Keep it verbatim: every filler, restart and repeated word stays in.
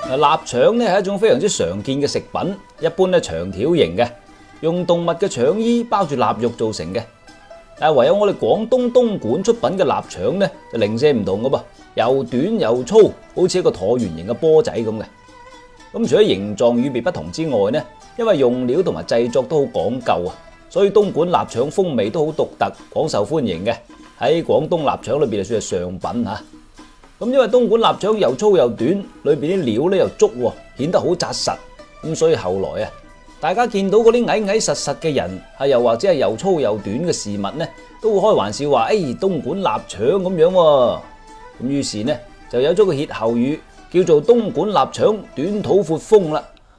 臘腸咧係一種非常之常見嘅食品，一般咧長條形嘅，用動物嘅腸衣包住臘肉做成嘅。但係唯有我哋廣東東莞出品嘅臘腸咧就零舍唔同噶噃，又短又粗，好似一個橢圓形嘅波仔咁嘅。咁除咗形狀與別不同之外呢，因為用料同埋製作都好講究啊，所以東莞臘腸風味都好獨特，廣受歡迎嘅。喺廣東臘腸裏邊就算係上品吓。咁因為東莞臘腸又粗又短，裏邊啲料咧又足，顯得好紮實。咁所以後來啊，大家見到嗰啲矮矮實實嘅人，啊又或者係又粗又短嘅事物呢，都會開玩笑話：誒、哎，東莞臘腸咁樣。咁於是呢，就有咗個歇後語，叫做東莞臘腸短肚闊風啦。